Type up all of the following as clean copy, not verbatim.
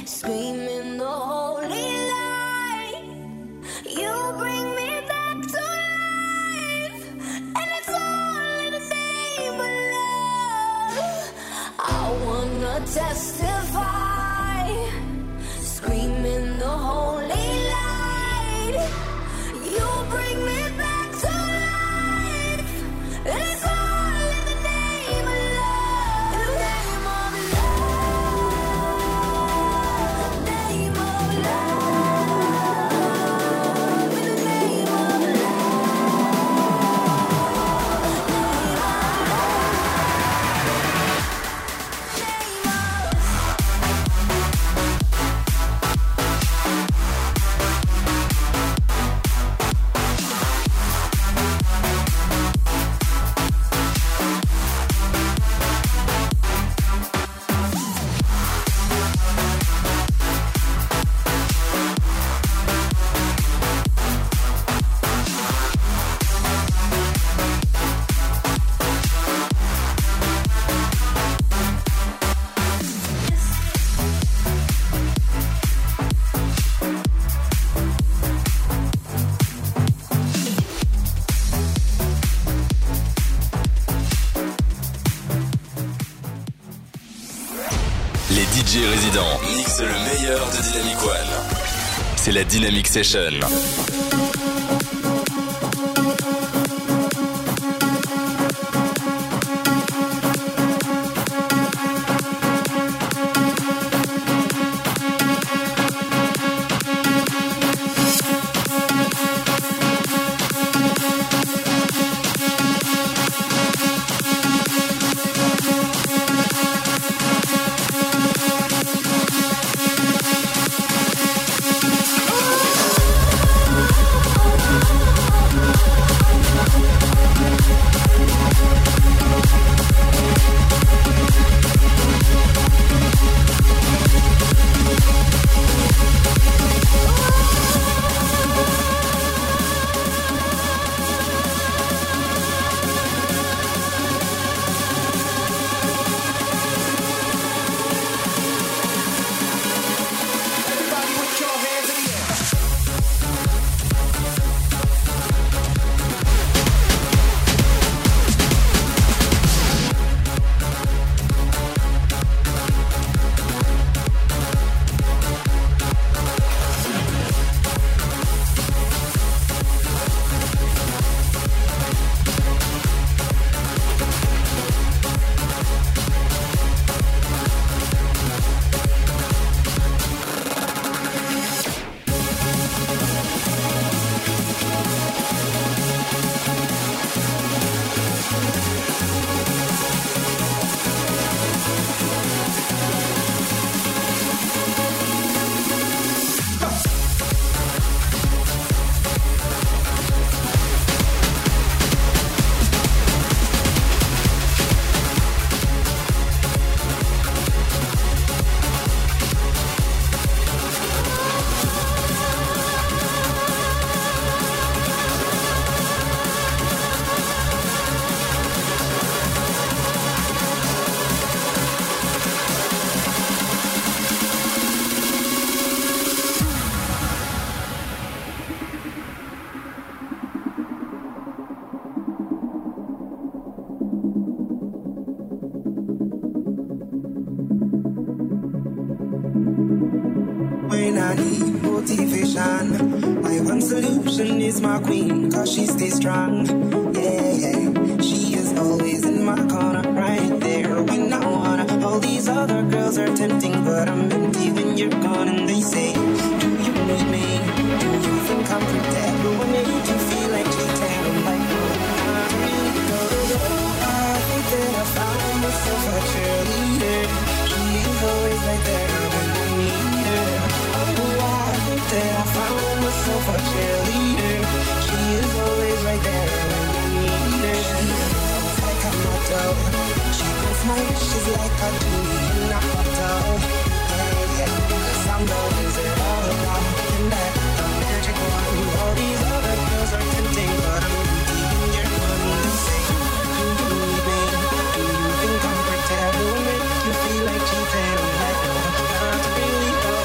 screaming the holy light. You bring me back to life, and it's all in the name of love. I wanna testify, screaming the holy light. You bring me back to life, and it's all in the name of love. In the name of love, name of love, in the name of Les DJ résidents mixent le meilleur de Dynamic One. C'est la Dynamic Session. When I need motivation, my one solution is my queen, cause she stays strong. Yeah, yeah. She is always in my corner, right there when I wanna. All these other girls are tempting, but I'm empty when you're gone. And they say, do you need me? Do you think I'm pretend? Do I make you feel like cheating? I'm like, no, not really. I think that I found myself a cheerleader. She is always right there when I need her. I think that I found myself a cheerleader. She is always right there when I need her. She's like a motto. She grants my wishes like a genie in a bottle. Yeah, yeah. 'Cause I'm the wizard all about. And that the magic one. All these other girls are tempting, but I'm empty when you're gone. They say, do you need me? Do you think I'm pretend? Do I make you feel like cheating? I'm like, no, not really, no.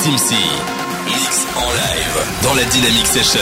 Team C. Mix en live dans la Dynamic Session.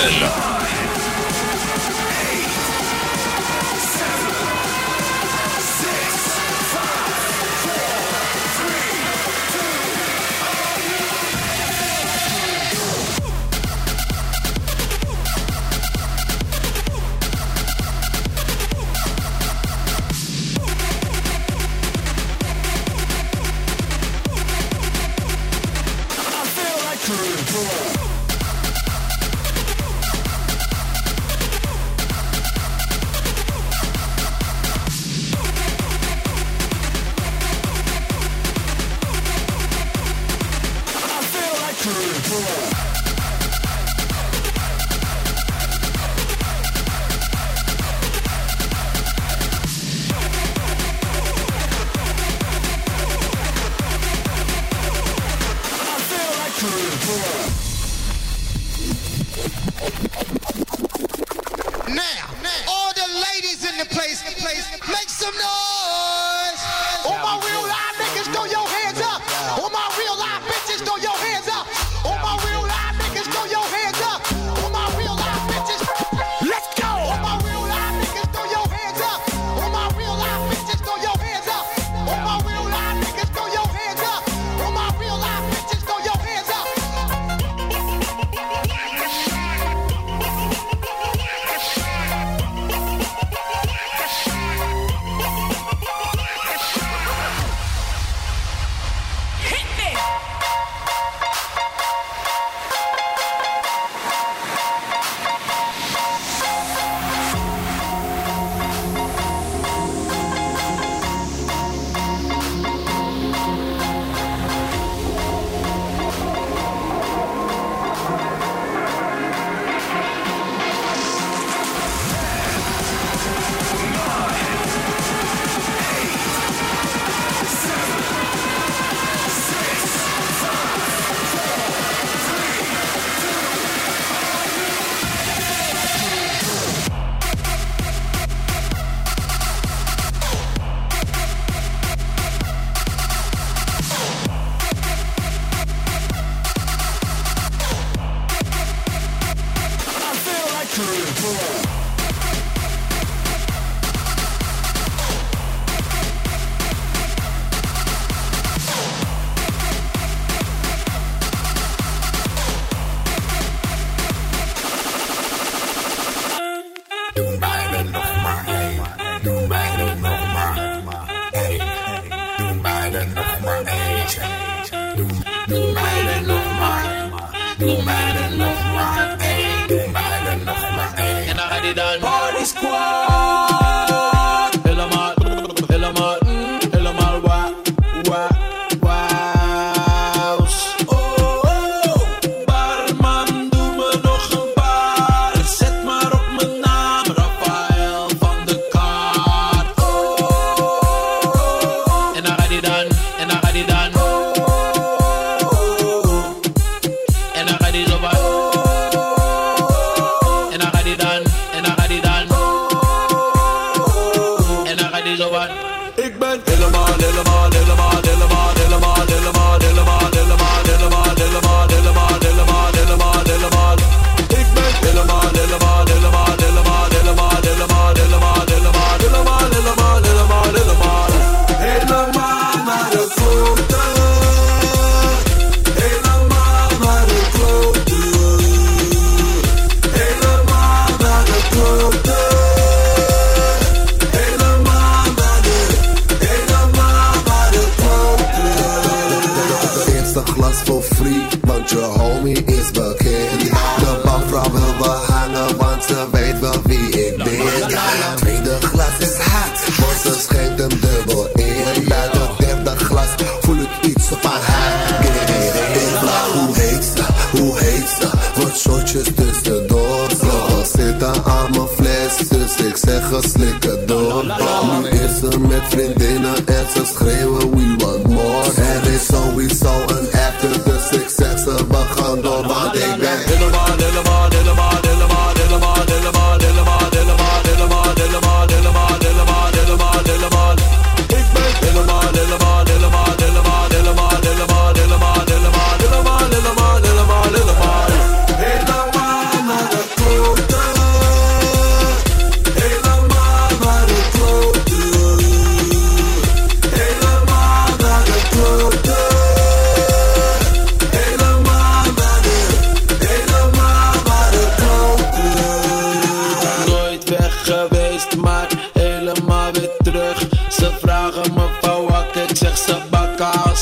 Helemaal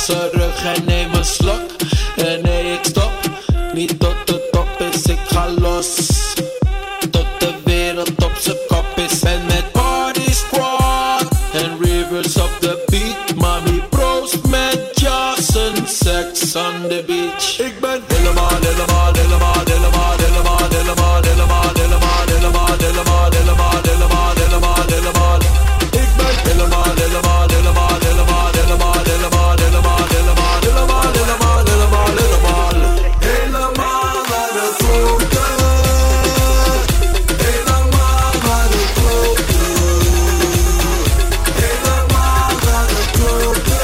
losse rug en neem een slok. En nee, ik stop niet tot de top is, ik ga los. Tot de wereld op z'n kop is. En met party squad en rivers op the beat. Mami proost met Johnson, sex on the beach. Ik ben helemaal, helemaal, helemaal, helemaal, helemaal, helemaal, helemaal, helemaal, helemaal, helemaal, helemaal, helemaal, helemaal, helemaal. Ik ben helemaal, helemaal, helemaal, helemaal, helemaal, helemaal, helemaal, helemaal, helemaal, helemaal, helemaal, helemaal. Helemaal naar de klote. Helemaal naar de klote. Helemaal naar de klote.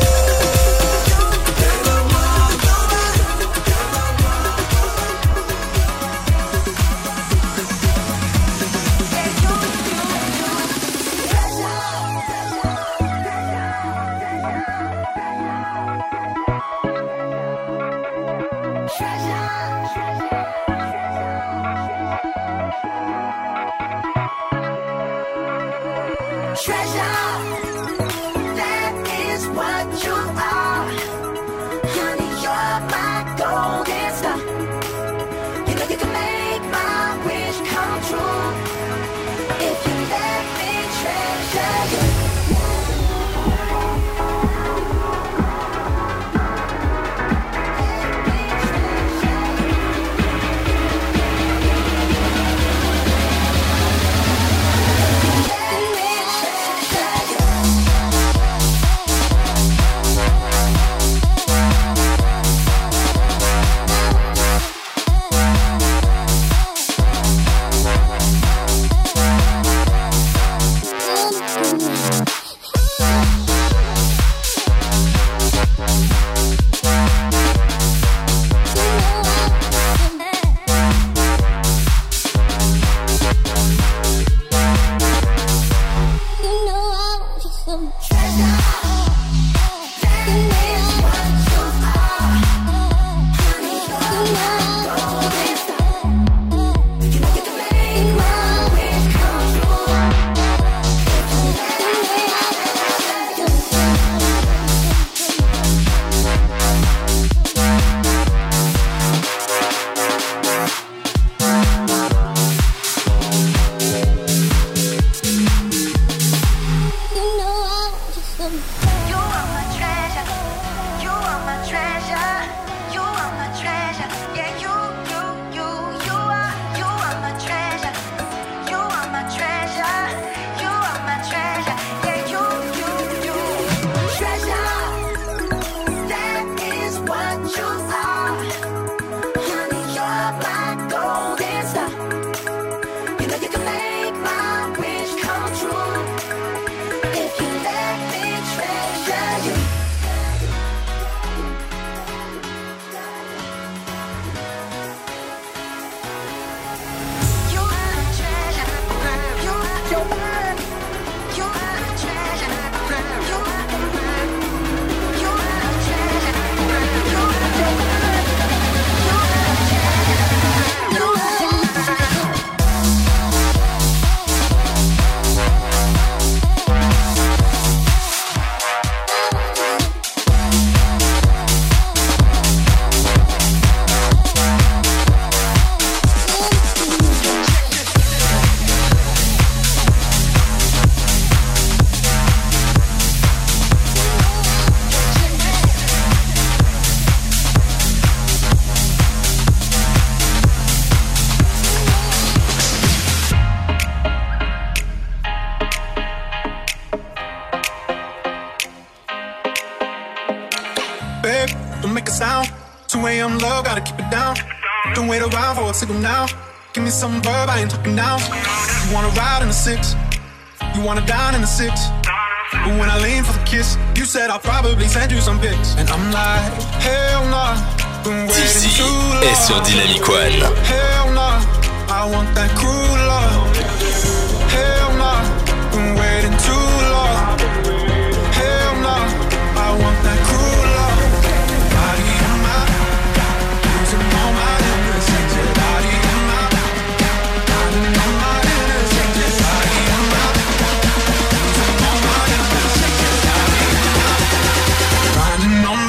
make a sound. 2 a.m. love, gotta keep it down. Don't wait around for a signal now. Give me some verb, I ain't talking now. You wanna ride in the 6, you wanna dine in the 6. But when I lean for the kiss, you said I'll probably send you some pics. And I'm like, hell nah. D'ici est sur Dynamic One. Hell nah, I want that cruel love. Hell nah, been waiting too long. Hell nah, I want that cruel love. Body in my, losing all my innocence. Body in my, finding all my innocence. Body in my, losing all my innocence. Body in my, finding all my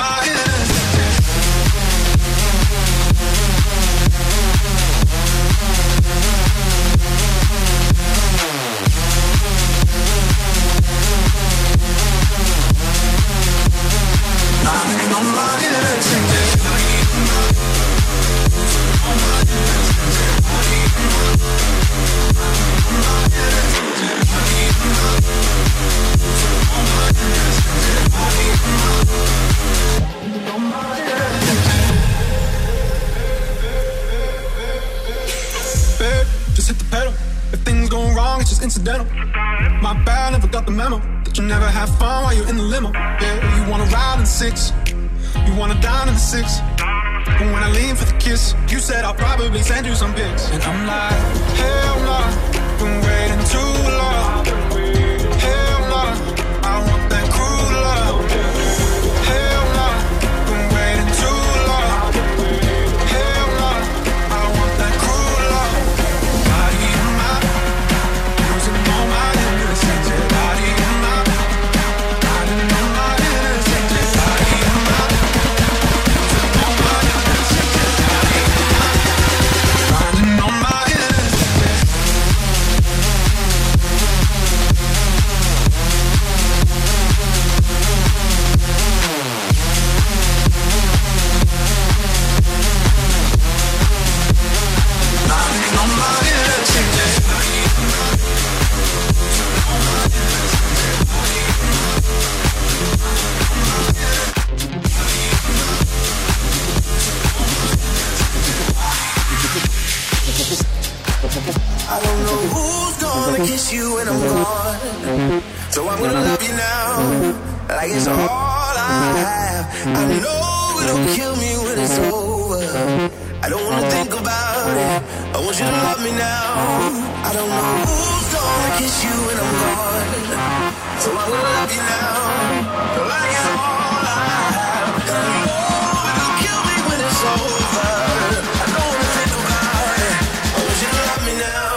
accidental. My bad, never got the memo that you never have fun while you're in the limo. Yeah, you wanna ride in the 6, you wanna dine in the 6. But when I lean for the kiss, you said I'll probably send you some pics. And I'm like, hell nah, been waiting too long. Hell nah, I want that cruel love. Hell nah, been waiting too long. Hell nah, I want that cruel love. Body in my, losing all my innocence. Body in my, hiding all my innocence. Body in my, losing all my innocence. Body in my, finding all my innocence. I don't know who's gonna kiss you when I'm gone, so I'm gonna love you now, like it's all I have. I know it'll kill me when it's over. I don't wanna think about it, I want you to love me now. I don't know who's gonna kiss you when I'm gone, so I'm gonna love you now, like it's all I have. I know it'll kill me when it's over. I don't wanna think about it, I want you to love me now.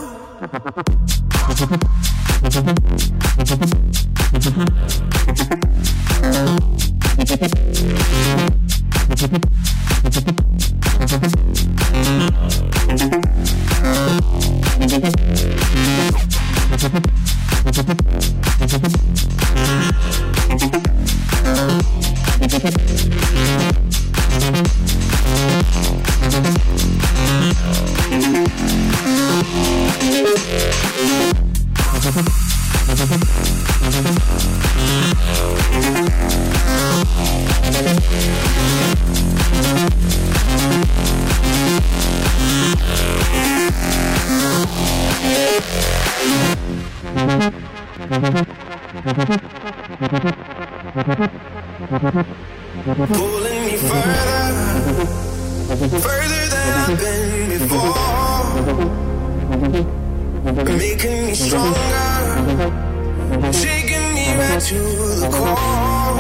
Pulling me further than I've been before, making me stronger, shaking me right to the core.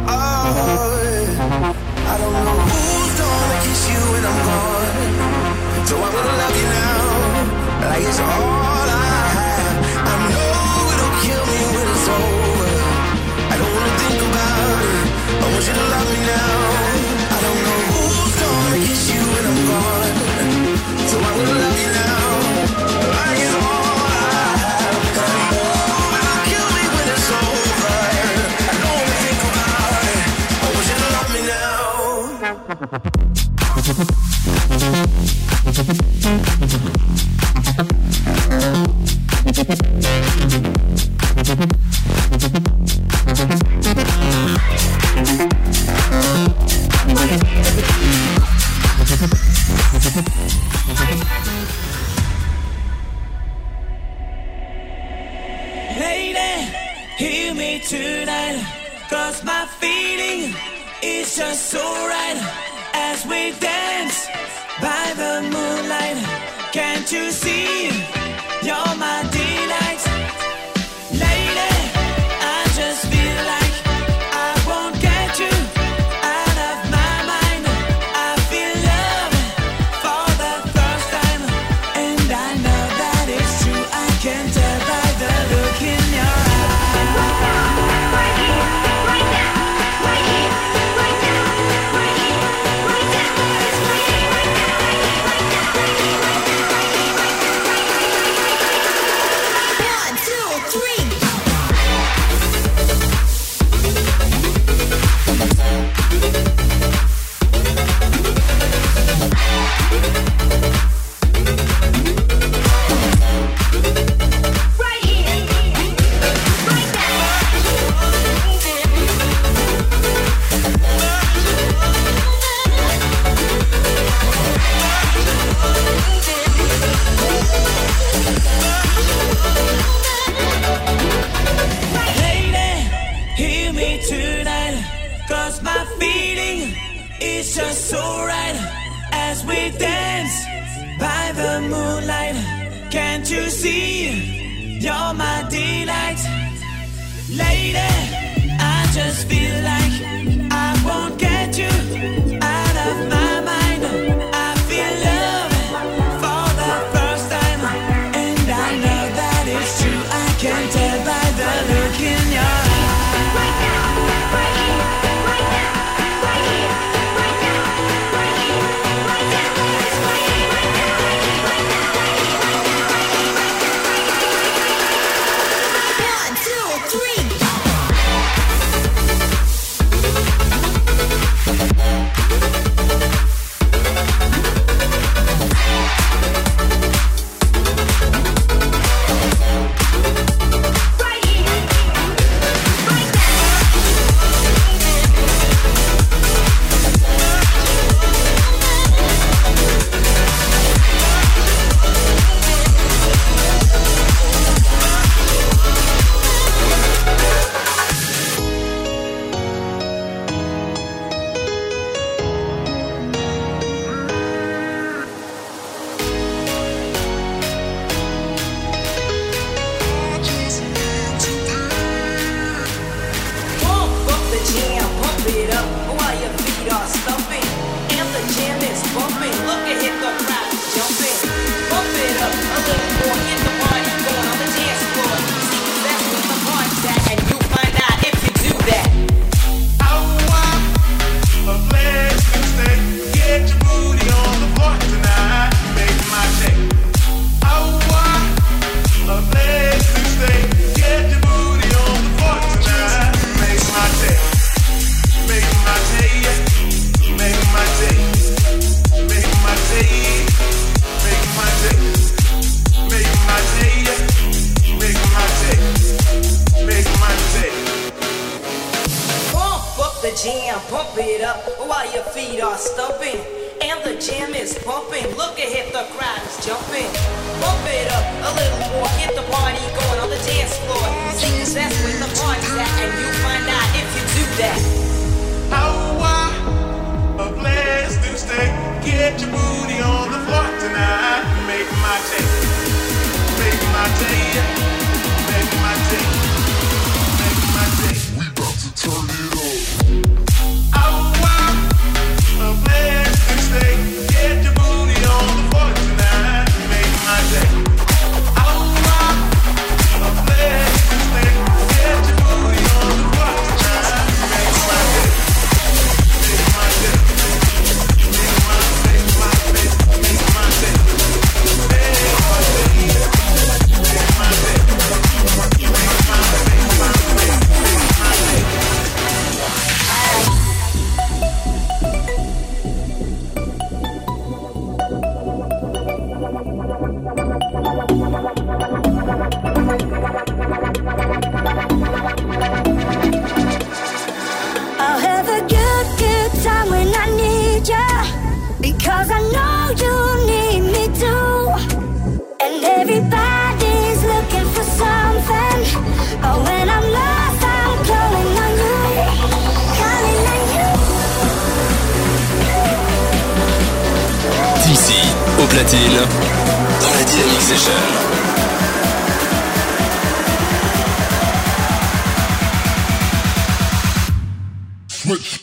Oh, I don't know who's gonna kiss you when I'm gone, so I'm gonna love you now, like it's all I have. I know it'll kill me when it's over. I don't wanna think about it, I want you to love me now. I don't know who's gonna kiss you when I'm gone, so I'm gonna love you now, like it's all I have. I know it'll kill me when it's over. I don't wanna think about it, I want you to love me now. Lady, hear me tonight, 'cause my feeling is just so right. As we dance by the moonlight, can't you see you're my delight? Lady, I just feel like I won't get you out of my mind. I feel love for the first time, and I know that it's true. I can tell by the look in your eyes. Right here, right now, right here, right now, right here, right now. It's right here, right now, right here, right now, right here, right here, right here, right here, right here. me tonight, 'cause my feeling is just so right as we dance by the moonlight. Can't you see you're my delight? Lady, I just feel like I won't get you out of my mind. I feel love for the first time, and I know that it's true. I can tell by the look in your eyes. Right now, right here, right now, right here, right now, right here, right now, right here, right now, right now, right now. 1, 2, 3. Dans la Dynamic Session. Switch.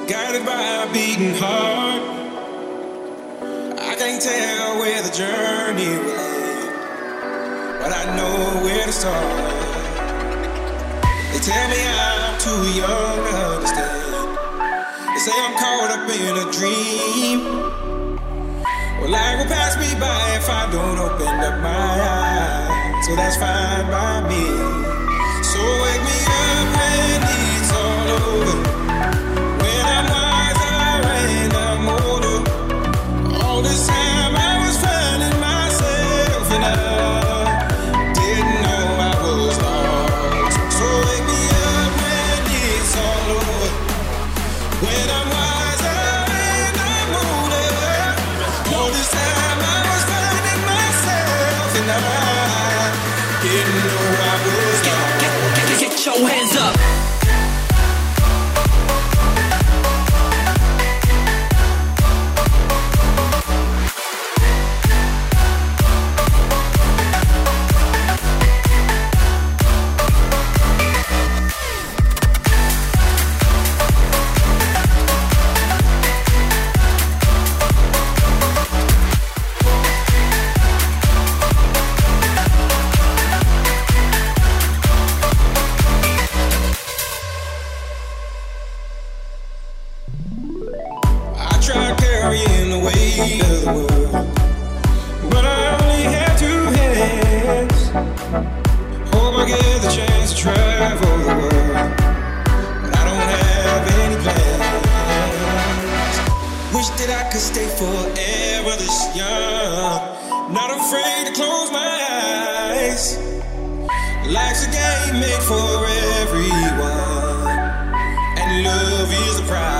guided by a beating heart. I can't tell where the journey will end, but I know where to start. They tell me I'm too young to understand. They say I'm caught up in a dream. Well, life will pass me by if I don't open up my eyes. So that's fine by me. So wake me up when it's all over, when I'm wiser and I'm older. All this time I was finding myself and I didn't know I was lost. So wake me up when it's all over, when I'm wiser and I'm older. All this time I was finding myself and I didn't know I was lost. Get your hands up. Carrying the weight of the world, but I only have two hands. Hope I get the chance to travel the world, but I don't have any plans. Wish that I could stay forever this young, not afraid to close my eyes. Life's a game made for everyone, and love is the prize.